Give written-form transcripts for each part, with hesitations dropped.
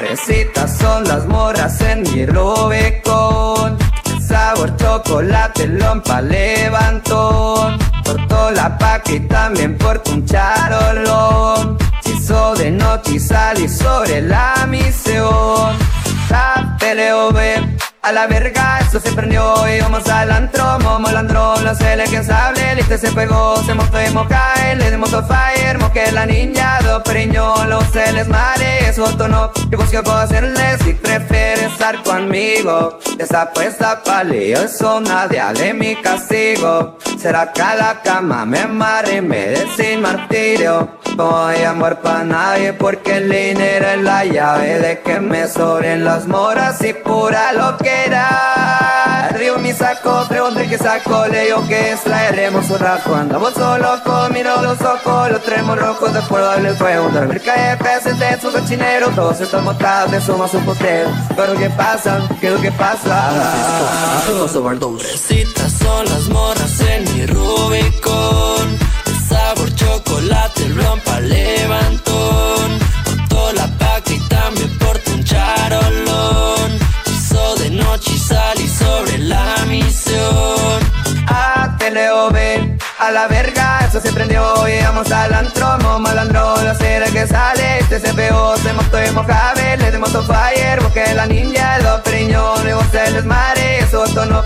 Fresitas son las morras en mi Rubicón. El sabor chocolate, lompa, levantón. Cortó la paca y también porto un charolón. Se hizo de noche y salí sobre la misión. La PLV, a la verga, esto se prendió y vamos al antro, momo landrón, no sé quién sabe, liste se pegó, se montó y mocae, le dimos a fire, moque la niña, do periñón, los se les mare, eso tono, yo busco puedo hacerle si prefiere estar conmigo, esa puesta pa' lío, eso nadie de mi castigo, será que a la cama me amarre y me dé sin martirio, no hay amor pa' nadie porque el dinero es la llave de que me sobren las moras y pura lo que arriba mi saco, pregunté qué saco, le digo que extraeremos un rato. Andamos solo con miro los ojos, los traemos rojos, después darle fuego. Dormir cae peces de su cochinero, todos están montados, de somos un postero. Pero ¿qué pasa? ¿Qué es lo que pasa? Pobrecitas son las morras en mi Rubicón. El sabor chocolate, rompa, levantón. Portó la paca y también porto un charolón. De noche y salí sobre la misión. A TLOV, a la verga, eso se prendió y vamos al antro, malandro, la cera que sale, este se pegó, se montó y mojave, le dimos a fire, porque la niña, los periñones, y vos se les mare, eso no.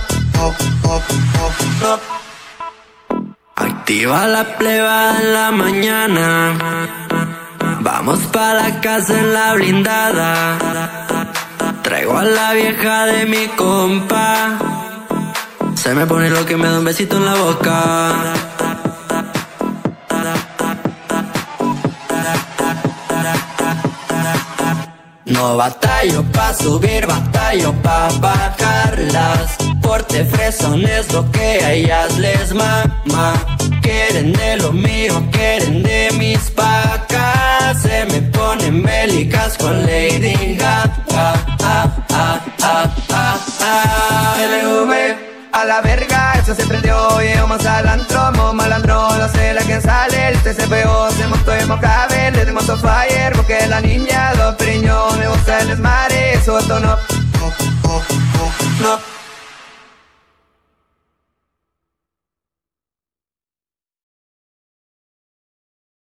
Activa la pleba en la mañana, vamos pa' la casa en la blindada. Traigo a la vieja de mi compa, se me pone lo que me da un besito en la boca. No batallo pa' subir, batallo pa' bajarlas. Porte fresón es lo que a ellas les mama. Quieren de lo mío, quieren de mis pacas. Se me ponen bélicas con Lady Gaga. LV, a la verga, eso se prendió y vamos al antro, malandro, no sé quién sale, el TCPO se montó y mojave, le dimos a fire, porque la niña, los periñones, vos se les mare, eso no.